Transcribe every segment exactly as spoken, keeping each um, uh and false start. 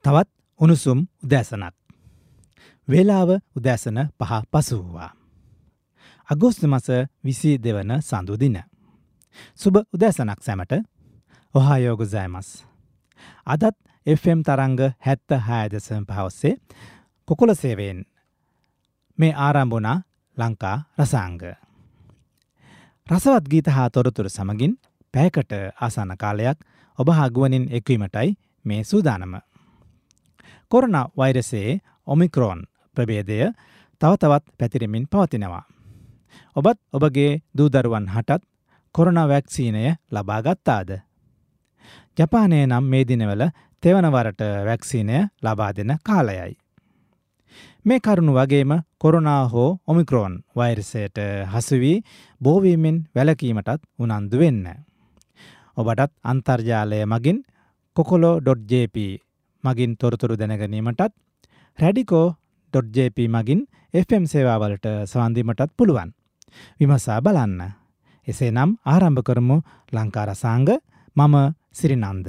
තවත් උණුසුම් උදෑසනක්. වේලාව උදෑසන පහ පසු වූවා. අගෝස්තු මාස විසි දෙක වන සඳු දින. සුබ උදෑසනක් සැමට. ඔහායෝ ගොසයිමස්. අදත් එෆ් එම් තරංග හැත්තෑ හය දශම පහ ඔස්සේ කුකුල සේවයෙන් මේ ආරම්භ වුණා ලංකා රසාංග. රසවත් ගීත හා තොරතුරු සමගින් පැයකට ආසන්න කාලයක් ඔබ හා ගුවනින් එක්වීමටයි මේ සූදානම. කොරෝනා වෛරසයේ ඔමික්‍රෝන් ප්‍රභේදය තව තවත් පැතිරෙමින් පවතිනවා. ඔබත් ඔබගේ දූදරුවන් හටත් කොරෝනා වැක්සීනය ලබා ගත්තාද? ජපානයේ නම් මේ දිනවල තෙවනවරට වැක්සීනය ලබා දෙන කාලයයි. මේ කරුණු වගේම කොරෝනා හෝ ඔමික්‍රෝන් වෛරසයට හසු වී බෝවීමෙන් වැළකීමටත් උනන්දු වෙන්න. ඔබටත් අන්තර්ජාලය මගින් කොකොලෝ ඩොට් ජේ පී මගින් තොරතුරු දැනගැනීමටත් රැඩිකෝ ඩොට් ජේ පී මගින් එෆ් එම් සේවාවලට සවන්දීමටත් පුළුවන්. විමසා බලන්න. එසේනම් ආරම්භ කරමු ලංකා රසාංග. මම සිරිනන්ද.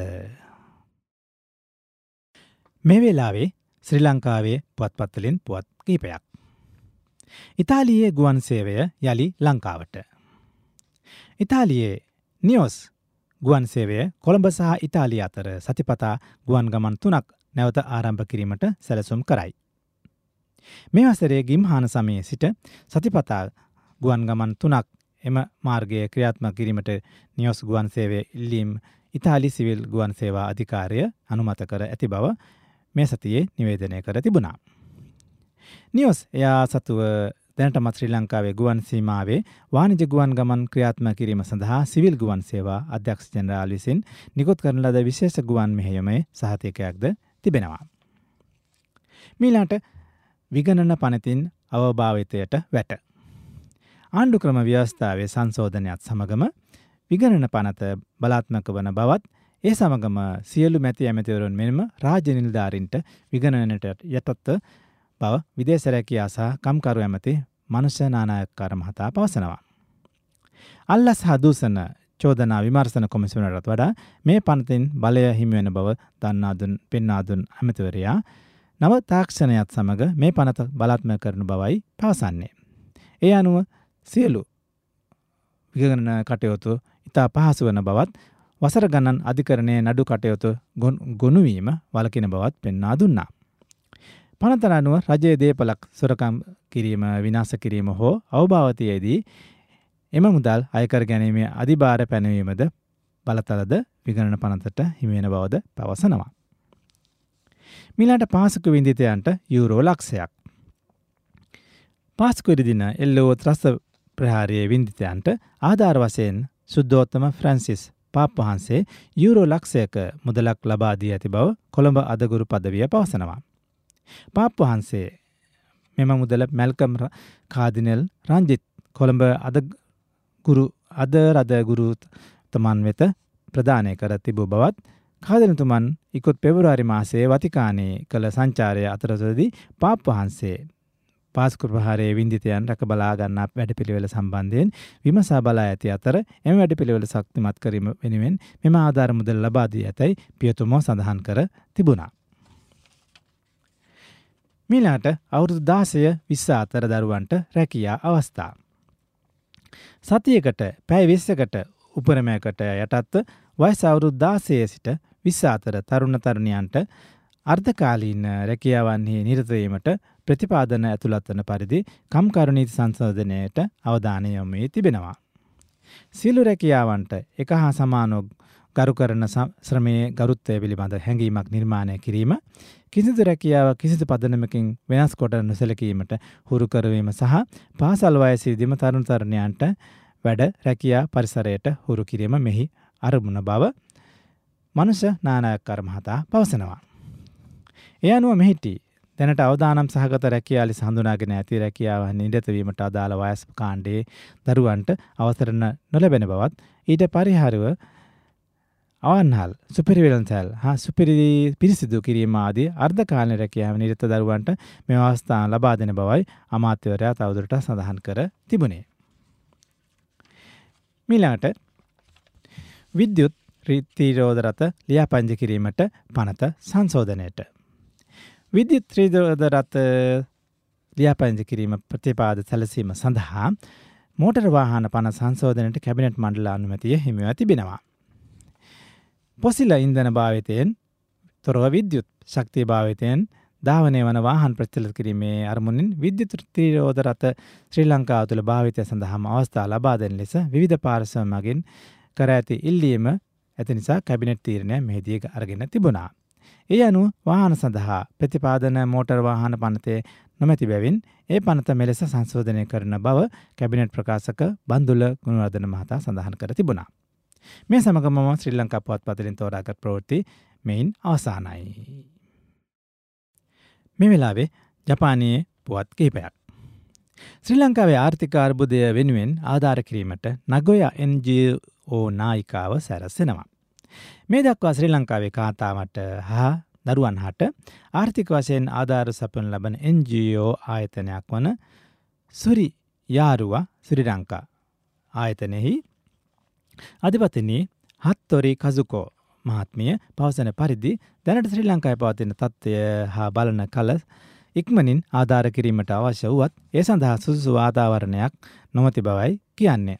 මේ වෙලාවේ ශ්‍රී ලංකාවේ පුවත්පත්වලින් පුවත් කීපයක්. ඉතාලියේ ගුවන් සේවය යළි ලංකාවට. ඉතාලියේ නියෝස් ගුවන් සේවය කොළඹ සහ ඉතාලිය අතර සතිපතා ගුවන් ගමන් තුනක් නැවත ආරම්භ කිරීමට සැලසුම් කරයි. මේ වසරේ ගිම්හාන සමයේ සිට සතිපතා ගුවන් ගමන් තුනක් එම මාර්ගය ක්‍රියාත්මක කිරීමට නියෝස් ගුවන් සේවය ඉල්ලීම් ඉතාලි සිවිල් ගුවන් සේවා අධිකාරිය අනුමත කර ඇති බව මේ සතියේ නිවේදනය කර තිබුණා. නියෝස් එයා සතුව දැනටමත් ශ්‍රී ලංකාවේ ගුවන් සීමාවේ වාණිජ ගුවන් ගමන් ක්‍රියාත්මක කිරීම සඳහා සිවිල් ගුවන් සේවා අධ්‍යක්ෂ ජෙනරාල් විසින් නිකුත් කරන ලද විශේෂ ගුවන් මෙහෙයුමේ සහතිකයක්ද තිබෙනවා. මීළාට විගණන පනතින් අවභාවිතයට වැට. ආණ්ඩුක්‍රම ව්‍යවස්ථාවේ සංශෝධනයත් සමගම විගණන පනත බලාත්මක වන බවත් ඒ සමගම සියලු මැති ඇමතිවරුන් මෙන්ම රාජ්‍ය නිලධාරීන්ට විගණනයට යටත්ව බව විදේශ රැකියා සහ කම්කරු ඇමති මනුෂ්‍ය නානායක්කාර මහතා පවසනවා. අල්ලස් හා දූෂණ චෝදනා විමර්ශන කොමිසමටත් වඩා මේ පනතින් බලය හිමි වෙන බව දන්වා දුන් පෙන්වා දුන් ඇමතිවරයා නව තාක්ෂණයත් සමග මේ පනත බලාත්මක කරන බවයි පවසන්නේ. ඒ අනුව සියලු විගණන කටයුතු ඉතා පහසු වන බවත් වසර ගණන් අධිකරණයේ නඩු කටයුතු ගොනුවීම වළකින බවත් පෙන්වා දුන්නා. පනතට අනුව රජයේ දේපලක් සොරකම් කිරීම විනාශ කිරීම හෝ අවභාවතියේදී එම මුදල් අයකර ගැනීමේ අධිභාර පැනවීමද බලතලද විගණන පනතට හිමිවෙන බවද පවසනවා. මීළාට පාසුක වින්දිතයන්ට යූරෝ ලක්ෂයක්. පාස්කු ඉරිදින එල්ලෝ ත්‍රස්ත ප්‍රහාරයේ වින්දිතයන්ට ආධාර වශයෙන් සුද්ධෝත්තම ෆ්‍රැන්සිස් පාප් වහන්සේ යූරෝ ලක්ෂයක මුදලක් ලබා දී ඇති බව කොළඹ අදගුරු පදවිය පවසනවා. පාප් වහන්සේ මෙම මුදල මැල්කම් කාදිනල් රංජිත් කොළඹ අදගුරු අද රදගුරු තමන් වෙත ප්‍රදානය කර තිබූ බවත් කාදිනතුමන් ඉකුත් පෙබරවාරි මාසයේ වතිකානයේ කළ සංචාරය අතරතුරදී පාප් වහන්සේ පාස්කු ප්‍රහාරයේ වින්දිතයන් රැක බලා ගන්නා වැඩපිළිවෙල සම්බන්ධයෙන් විමසා බලා ඇති අතර එම වැඩපිළිවෙල ශක්තිමත් කිරීම වෙනුවෙන් මෙම ආධාර මුදල් ලබා දී ඇතැයි පියතුමෝ සඳහන් කර තිබුණා. මීළාට අවුරුදු දාසය විස්ස අතර දරුවන්ට රැකියා අවස්ථා. සතියකට පැය විස්සකට උපරමයකට යටත්ව වයස අවුරුදු දාසය සිට විස්ස අතර තරුණ තරුණියන්ට අර්ධකාලීන රැකියාවන්හි නිරත වීමට ප්‍රතිපාදන ඇතුළත් වන පරිදි කම්කරු නීති සංශෝධනයට අවධානය යොමු වී තිබෙනවා. සියලු රැකියාවන්ට එක හා සමානව ගරු කරන ශ්‍රමයේ ගරුත්වය පිළිබඳ හැඟීමක් නිර්මාණය කිරීම, කිසිදු රැකියාව කිසිදු පදනමකින් වෙනස් කොට නොසැලකීමට හුරු කරවීම සහ පාසල් වයසේදීම තරුණ තරුණියන්ට වැඩ රැකියා පරිසරයට හුරු කිරීම මෙහි අරමුණ බව මනුෂ්‍ය නානායක්කාර මහතා පවසනවා. ඒ අනුව මෙහිදී දැනට අවදානම් සහගත රැකියා ලෙස හඳුනාගෙන ඇති රැකියාව නිරත වීමට අදාළ වයස් කාණ්ඩයේ දරුවන්ට අවසර නොලැබෙන බවත් ඊට පරිහාරව අවන්හල් සුපිරිවෙළඳසැල් හා සුපිරි පිරිසිදු කිරීම ආදී අර්ධකාලීන රැකියාව නිරත දරුවන්ට මේ අවස්ථාව ලබා දෙන බවයි අමාත්‍යවරයා තවදුරටත් සඳහන් කර තිබුණේ. මීළඟට විද්‍යුත් රීතිරෝධ රථ ලියාපදිංචි කිරීමට පනත සංශෝධනයට විද්‍යුත් ත්‍රිරෝද රථ ලියාපදිංචි කිරීම ප්‍රතිපාද සැලසීම සඳහා මෝටර වාහන පන සංශෝධනයට කැබිනට් මණ්ඩල අනුමැතිය හිමිව තිබෙනවා. පොසිල ඉන්ධන භාවිතයෙන් තොරව විද්‍යුත් ශක්තිය භාවිතයෙන් ධාවනය වන වාහන ප්‍රචලිත කිරීමේ අරමුණින් විද්‍යුත් ත්‍රිරෝද රථ ශ්‍රී ලංකාව තුළ භාවිතය සඳහාම අවස්ථා ලබා දෙන ලෙස විවිධ පාර්ශ්ව මගින් කර ඇති ඉල්ලීම ඇති නිසා කැබිනට් තීරණය මෙහිදී අරගෙන තිබුණා. ඒ අනුව වාහන සඳහා ප්‍රතිපාදන මෝටර් වාහන පනතේ නොමැති බැවින් ඒ පනත මෙලෙස සංශෝධනය කරන බව කැබිනට් ප්‍රකාශක බන්දුල ගුණවර්ධන මහතා සඳහන් කර තිබුණා. මේ සමගම ශ්‍රී ලංකා පුවත්පතලින් තෝරාගත් ප්‍රවෘත්ති මෙයින් අවසానයි. මේ වෙලාවේ ජපානයේ පුවත් කිහිපයක්. ශ්‍රී ලංකාවේ ආර්ථික අර්බුදය වෙනුවෙන් ආධාර කිරීමට නගොයා එන් ජී ඕ නායිකාව සැරසෙනවා. මේ දක්වා ශ්‍රී ලංකාවේ කාන්තාවට හා දරුවන් හට ආර්ථික වශයෙන් ආධාර සපයනු ලබන එන් ජී ඕ ආයතනයක් වන සුරි යාරුවා ශ්‍රී ලංකා ආයතනයෙහි අධිපතිනි හත්තොරි කසුකෝ මහත්මිය පවසන පරිදි දැනට ශ්‍රී ලංකාවේ පවතින තත්ත්වය හා බලන කල ඉක්මනින් ආධාර කිරීමට අවශ්‍ය වුවත් ඒ සඳහා සුදුසු වාතාවරණයක් නොමැති බවයි කියන්නේ.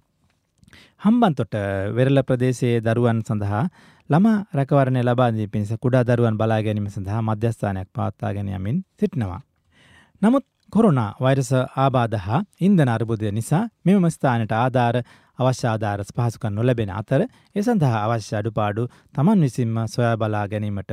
හම්බන්තොට වෙරළ ප්‍රදේශයේ දරුවන් සඳහා ළමා රැකවරණය ලබා දී පිණිස කුඩා දරුවන් බලා ගැනීම සඳහා මධ්‍යස්ථානයක් පවත්වාගෙන යමින් සිටිනවා. නමුත් කොරෝනා වෛරස ආබාධ හා ඉන්ධන අර්බුදය නිසා මෙම ස්ථානයට ආධාර අවශ්‍ය ආධාර පහසුකම් නොලැබෙන අතර ඒ සඳහා අවශ්‍ය අඩුපාඩු තමන් විසින්ම සොයා බලා ගැනීමට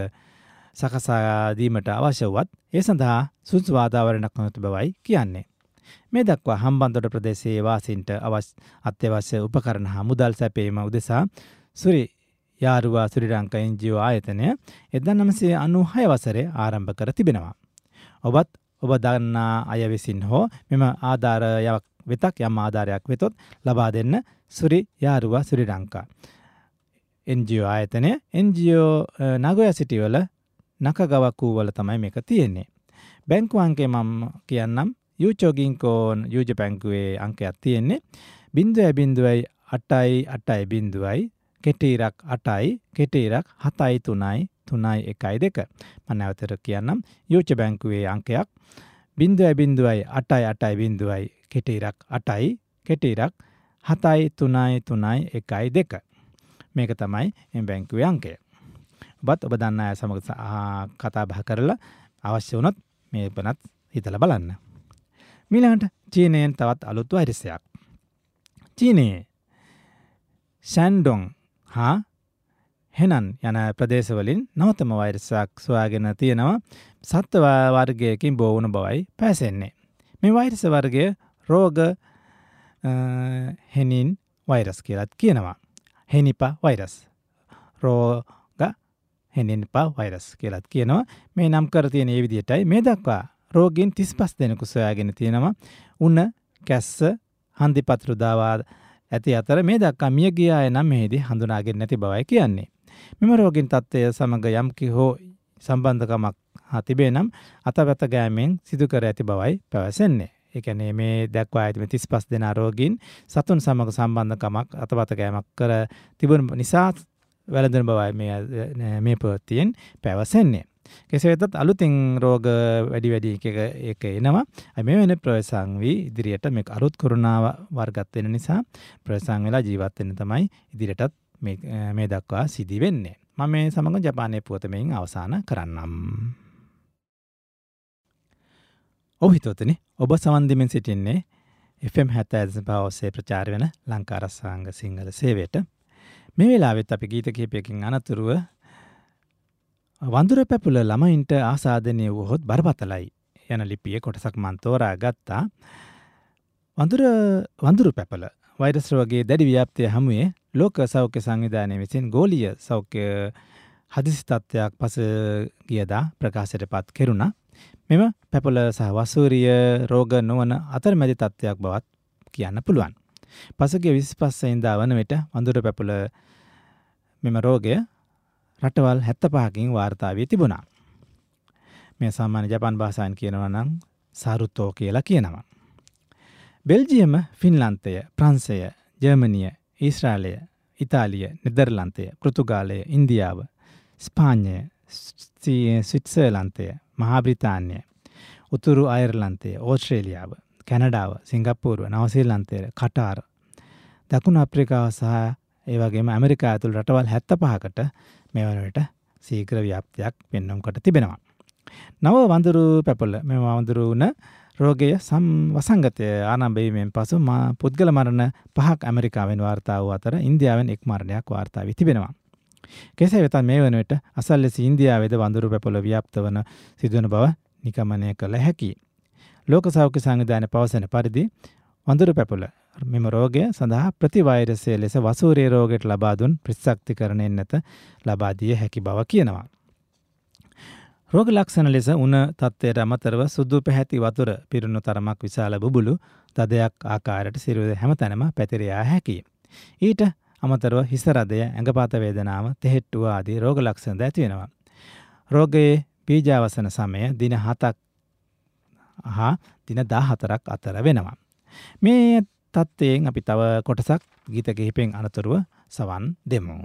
සකසා දීමට අවශ්‍ය වුවත් ඒ සඳහා සුදුසු වාතාවරණයක් නොමැති බවයි කියන්නේ. මේ දක්වා හම්බන්තොට ප්‍රදේශයේ වාසීන්ට අවශ්‍ය අත්‍යවශ්‍ය උපකරණ හා මුදල් සැපයීම උදෙසා සුරි යාරුවා ශ්‍රී ලංකා එන් ජී ඕ ආයතනය එක්දහස් නවසිය අනූහය වසරේ ආරම්භ කර තිබෙනවා. ඔබත් ඔබ දන්නා අය විසින් හෝ මෙම ආධාරයක් වෙතක් යම් ආධාරයක් වෙතොත් ලබා දෙන්න සුරි යාරුවා ශ්‍රී ලංකා එන් ජී ඕ ආයතනය එන් ජී ඕ නගොයා සිටි වල නකගවකු වල තමයි මේක තියෙන්නේ. බැංකු අංකය මම කියන්නම්. යූචෝ ගින්කෝන් යූජ බැංකුවේ අංකයක් තියෙන්නේ බිංදුවයි බිංදුවයි අටයි අටයි බිංදුවයි කෙටීරක් අටයි කෙටීරක් හතයි තුනයි තුනයි එකයි දෙක. මම නැවතට කියන්නම්. යූච බැංකුවේ අංකයක් බිංදුවයි බිංදුවයි අටයි අටයි බිංදුවයි කෙටීරක් අටයි කෙටීරක් හතයි තුනයි තුනයි එකයි දෙක. මේක තමයි මේ බැංකුවේ අංකය. ඔබත් ඔබ දන්න අය සමග කතා බහ කරලා අවශ්‍ය වුණොත් මේ වෙනත් හිතලා බලන්න. ඊළඟට චීනයෙන් තවත් අලුත් වෛරසයක්. චීනයේ ෂැන්ඩොන් හා හෙනන් යන ප්‍රදේශවලින් නවතම වෛරසයක් සොයාගෙන තියෙනවා. සත්ව වර්ගයකින් බෝ වුණ බවයි පැසෙන්නේ. මේ වෛරස වර්ගය රෝග හෙනින් වෛරස් කියලාත් කියනවා. හෙනිපා වෛරස්. රෝග හෙනිපා වෛරස් කියලාත් කියනවා. මේ නම් කර තියෙන මේ විදිහටයි. මේ දක්වා රෝගීන් තිස් පහ දෙනෙකු සොයාගෙන තියෙනවා. උණ, කැස්ස, හන්දිපත්‍රු දාවා ඇති අතර මේ දක්වා මිය ගිය අය නම් මෙහිදී හඳුනාගෙන නැති බවයි කියන්නේ. මෙම රෝගීන් තත්ත්වය සමග යම් කිහෝ සම්බන්ධකමක් තිබේ නම් අතපත ගෑමෙන් සිදු කර ඇති බවයි පැවසෙන්නේ. ඒ කියන්නේ මේ දක්වා ඇති තිස් පහ දෙනා රෝගීන් සතුන් සමග සම්බන්ධකමක් අතපත ගෑමක් කර තිබුණ නිසා වැළඳන බවයි මේ මේ ප්‍රවෘත්තියෙන් පැවසෙන්නේ. කෙසේ වෙතත් අලුතින් රෝග වැඩි වැඩි එක එක එනවා. මේ වෙන ප්‍රවේශම් වී ඉදිරියට මේ අලුත් කොරෝනා වර්ගත් වෙන නිසා ප්‍රවේශම් වෙලා ජීවත් වෙන්න තමයි ඉදිරියටත් මේ මේ දක්වා සිදි වෙන්නේ. මම මේ සමග ජපානයේ පුවත මෙයින් අවසන් කරන්නම්. ඔව් හිතවතුනි, ඔබ සවන් දෙමින් සිටින්නේ එෆ් එම් හැත්තෑ දශම පහ ඔස්සේ ප්‍රචාර වෙන ලංකා රසාංග සිංහල සේවයට. මේ වෙලාවෙත් අපි ගීත කිහිපයකින් අනතුරුව වඳුර පැපුල ළමයින්ට ආසාදනය වුවහොත් බරපතලයි යන ලිපියේ කොටසක් මන් තෝරා ගත්තා. වඳුර වඳුරු පැපල වෛරස් රෝගයේ දැඩි ව්‍යාප්තිය හමුවේ ලෝක සෞඛ්‍ය සංවිධානය විසින් ගෝලීය සෞඛ්‍ය හදිසි තත්ත්වයක් පසුගියදා ප්‍රකාශයට පත් කෙරුණා. මෙම පැපල සහ වසූරිය රෝග නොවන අතරමැදි තත්ත්වයක් බවත් කියන්න පුළුවන්. පසුගිය විසිපහ වෙනිදා වන විට වඳුර පැපල මෙම රෝගය රටවල් හැත්තපහකින් වාර්තා වී තිබුණා. මේ සාමාන්‍ය ජපාන් භාෂාවෙන් කියනවා නම් සාරුතෝ කියලා කියනවා. බෙල්ජියම, ෆින්ලන්තය, ප්‍රංශය, ජර්මනිය, ඊශ්‍රායලය, ඉතාලිය, නෙදර්ලන්තය, පෘතුගාලය, ඉන්දියාව, ස්පාඤ්ඤය, ස්විට්සර්ලන්තය, මහා බ්‍රිතාන්‍ය, උතුරු අයර්ලන්තය, ඕස්ට්‍රේලියාව, කැනඩාව, සිංගප්පූරුව, නවසීලන්තය, කටාර්, දකුණු අප්‍රිකාව සහ ඒ වගේම ඇමරිකා ඇතුළු රටවල් හැත්තෑ පහකට මේ වන විට ශීඝ්‍ර ව්‍යාප්තියක් පෙන්වුම් කොට තිබෙනවා. නව වඳුරු පැපොල මෙම වඳුරු වුණ රෝගය සම් වසංගතය ආරම්භ වීමෙන් පසු මා පුද්ගල මරණ පහක් ඇමරිකාවෙන් වාර්තා වූ අතර ඉන්දියාවෙන් එක් මරණයක් වාර්තා වී තිබෙනවා. කෙසේ වෙතත් මේ වන විට අසල්ලෙස ඉන්දියාවේද වඳුරු පැපොල ව්‍යාප්ත වන සිදුවන බව නිගමනය කළ හැකියි. ලෝක සෞඛ්‍ය සංවිධානය පවසන පරිදි වඳුරු පැපොල මෙම රෝගය සඳහා ප්‍රතිවෛරසය ලෙස වසූරිය රෝගයට ලබා දුන් ප්‍රතිශක්තිකරණයෙන් නැත ලබා දිය හැකි බව කියනවා. රෝග ලක්ෂණ ලෙස උණ තත්ත්වයට අමතරව සුදු පැහැති වතුර පිරුණු තරමක් විශාල බුබුලු තදයක් ආකාරයට සිරුර හැමතැනම පැතිර යා හැකියි. ඊට අමතරව හිස රදය, ඇඟපත වේදනාව, තෙහෙට්ටුව ආදී රෝග ලක්ෂණ ද ඇති වෙනවා. රෝගයේ බීජාවසන සමය දින හතක් හා දින දාහතරක් අතර වෙනවා. මේ තත්ත්වයෙන් අපි තව කොටසක් ගීත කිහිපෙන් අනතුරුව සවන් දෙමු.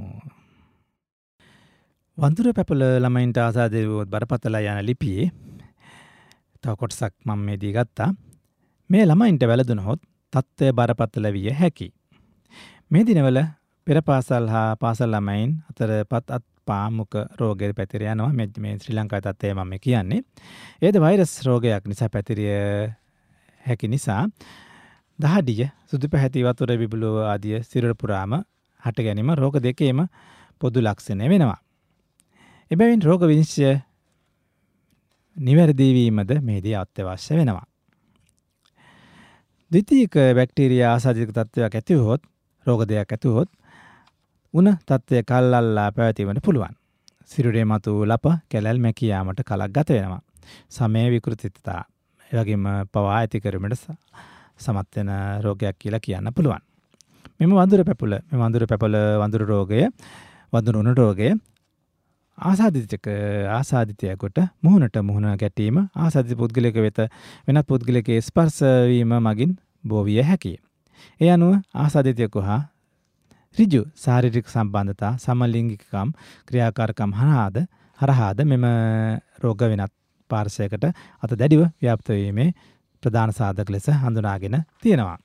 වඳුරු පැපොල ළමයින්ට ආසාදෙවුවොත් බරපතල යන ලිපියේ තව කොටසක් මම මේ දී ගත්තා. මේ ළමයින්ට වැළඳුනහොත් තත්ත්වය බරපතල විය හැකියි. මේ දිනවල පෙර පාසල් හා පාසල් ළමයින් අතර පත් අත් පා මුඛ රෝගය පැතිර යනවා. මේ මේ ශ්‍රී ලංකාවේ තත්ත්වය මම කියන්නේ. ඒද වෛරස් රෝගයක් නිසා පැතිරිය හැකි නිසා දහඩිය, සුදු පැහැති වතුර බිබුලුව ආදිය සිරුර පුරාම හට ගැනීම රෝග දෙකේම පොදු ලක්ෂණ වෙනවා. එබැවින් රෝග විනිශ්චය නිවැරදි වීමද මේදී අත්‍යවශ්‍ය වෙනවා. ද්විතීයික බැක්ටීරියා ආසාදිත තත්ත්වයක් ඇති වුවහොත්, රෝග දෙයක් ඇති වුවහොත් උණ තත්ත්වය කල්ලල්ලා පැවතීමට පුළුවන්. සිරුරේ මතු ලප කැලල් මැකී යාමට කලක් ගත වෙනවා. සමය විකෘතිතා ඒ වගේම පවා ඇති කිරීමට සමත් වෙන රෝගයක් කියලා කියන්න පුළුවන්. මෙම වඳුරු පැපොල, මේ වඳුරු පැපොල වඳුරු රෝගය, වඳුරු උණ රෝගය ආසාදිතක ආසාදිතයෙකුට මුහුණට මුහුණ ගැටීම, ආසාදිත පුද්ගලයෙක වෙත වෙනත් පුද්ගලයෙකුගේ ස්පර්ශ වීම මගින් බෝ විය හැකියි. ඒ අනුව ආසාදිතයෙකු හා ඍජු ශාරීරික සම්බන්ධතා, සමලිංගිකකම් ක්‍රියාකාරකම් හරහාද හරහාද මෙම රෝග වෙනත් පාර්ශවයකට අත දැඩිව ව්‍යාප්ත වීමේ ප්‍රධාන සාධක ලෙස හඳුනාගෙන තියෙනවා.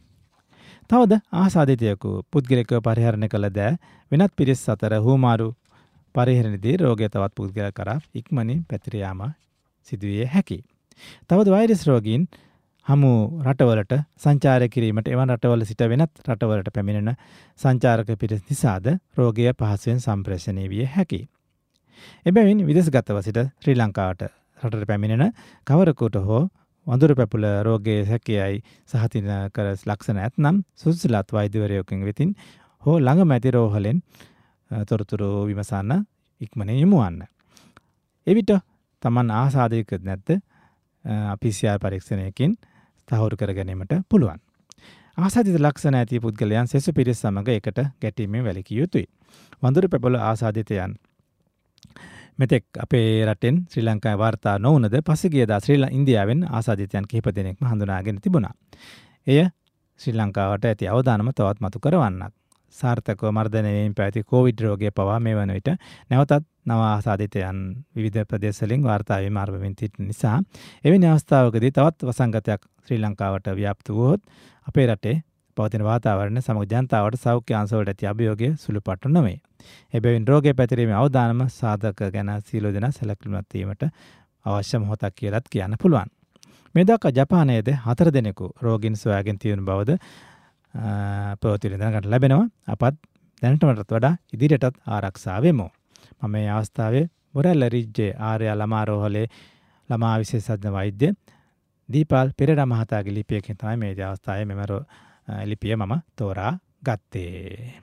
තවද ආසාදිතයෙකු පුද්ගලිකව පරිහරණය කළ දෑ වෙනත් පිරිස් අතර හුවමාරු පරිහරණයේදී රෝගය තවත් පුද්ගලයා කරා ඉක්මනින් පැතිර යාම සිදුවිය හැකියි. තවද වෛරස් රෝගීන් හමු රටවලට සංචාරය කිරීමට එවන් රටවල සිට වෙනත් රටවලට පැමිණෙන සංචාරක පිරිස් නිසාද රෝගය පහසුවෙන් සම්ප්‍රේෂණය විය හැකියි. එබැවින් විදේශගතව සිට ශ්‍රී ලංකාවට රටට පැමිණෙන කවරෙකුට හෝ වඳුරු පැපොල රෝගයේ හැකියයි සහතින කර ලක්ෂණ ඇතනම් සුදුසුලත් වෛද්‍යවරයෙකුගෙන් වෙතින් හෝ ළඟම ඇති රෝහලෙන් තොරතුරු විමසන්න ඉක්මනින් යොමු වන්න. එවිට Taman ආසාදිත නැත්ද පී සී ආර් පරීක්ෂණයකින් තහවුරු කර ගැනීමට පුළුවන්. ආසාදිත ලක්ෂණ ඇති පුද්ගලයන් සෙසු පිරිස් සමග එකට ගැටීමෙන් වැළකී යුතුයි. වඳුරු පැපොල ආසාදිතයන් මෙතෙක් අපේ රටෙන් ශ්‍රී ලංකාවේ වාර්තා නොවුනද පසුගියදා ශ්‍රී ඉන්දියාවෙන් ආසාදිතයන් කිහිප දෙනෙක්ම හඳුනාගෙන තිබුණා. එය ශ්‍රී ලංකාවට ඇති අවදානම තවත් මතු කරවන්නක්. සාර්ථකව මර්ධනය වීම පැවති කොවිඩ් රෝගය පවා මේ වන විට නැවතත් නව ආසාදිතයන් විවිධ ප්‍රදේශවලින් වාර්තා වීම ආරම්භ වෙන නිසා එවැනි අවස්ථාවකදී තවත් වසංගතයක් ශ්‍රී ලංකාවට ව්‍යාප්ත වුවහොත් අපේ රටේ පවතින වාතාවරණය සමග ජනතාවට සෞඛ්‍ය අංශවලට ඇති අභියෝගය සුළුපටු නොවේ. එබැවින් රෝගය පැතිරීමේ අවදානම සාධක ගැන සියලු දෙනා සැලකිලිමත් වීමට අවශ්‍ය මොහොතක් කියලාත් කියන්න පුළුවන්. මේ දක්වා ජපානයේද හතර දෙනෙකු රෝගීන් සොයාගෙන තියෙන බවද ප්‍රවෘත්ති දැනගන්න ලැබෙනවා. අපත් දැනටමටත් වඩා ඉදිරියටත් ආරක්ෂා වෙමු. මම මේ අවස්ථාවේ බොරැල්ල රිජ්ජේ ආර්ය ළමා රෝහලේ ළමා විශේෂඥ වෛද්‍ය දීපාල් පෙරේරා මහතාගේ ලිපියකින් තමයි මේ අවස්ථාවේ මෙම ලිපිය මම තෝරා ගත්තේ.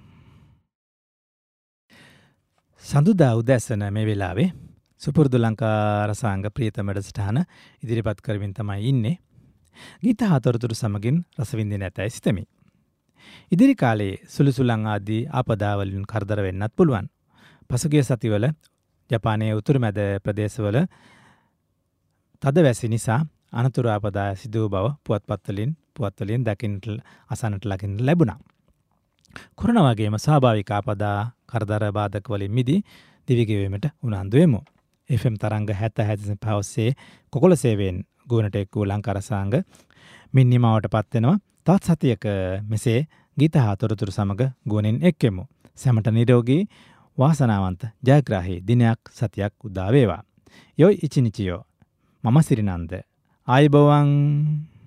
සඳුදා උදැසන මේ වෙලාවේ සුපුරුදු ලංකා රසාංග ප්‍රියතම වැඩසටහන ඉදිරිපත් කරමින් තමයි ඉන්නේ. ගීත හතරතුරු සමගින් රස විඳින ඇතැයි සිතමි. ඉදිරි කාලයේ සුළුසුළං ආදී ආපදාවලින් කරදර වෙන්නත් පුළුවන්. පසුගිය සතිවල ජපානයේ උතුරු මැද ප්‍රදේශවල තද වැසි නිසා අනතුරු ආපදා සිදු බව පුවත්පත්වලින් පුවත්වලින් දකින්නට අසන්නට ලකින්නට ලැබුණා. කොරෝනා වගේම ස්වාභාවික ආපදා කරදර බාධක වලින් මිදී දිවිගෙවීමට උනන්දු වෙමු. එෆ් එම් තරංග හැත්තෑ හැත්තෑ පහ ඔස්සේ කොකොළ සේවයෙන් ගුවනට එක් වූ ලංකාරසාංග මින් නිමාවට පත් වෙනවා. තවත් සතියක මෙසේ ගීත හා තොරතුරු සමග ගුවනින් එක්කෙමු. සැමට නිරෝගී වාසනාවන්ත ජයග්‍රාහී දිනයක් සතියක් උදා වේවා. යොයි ඉචිනිචියෝ මම සිරිනන්ද ආයුබෝවන්.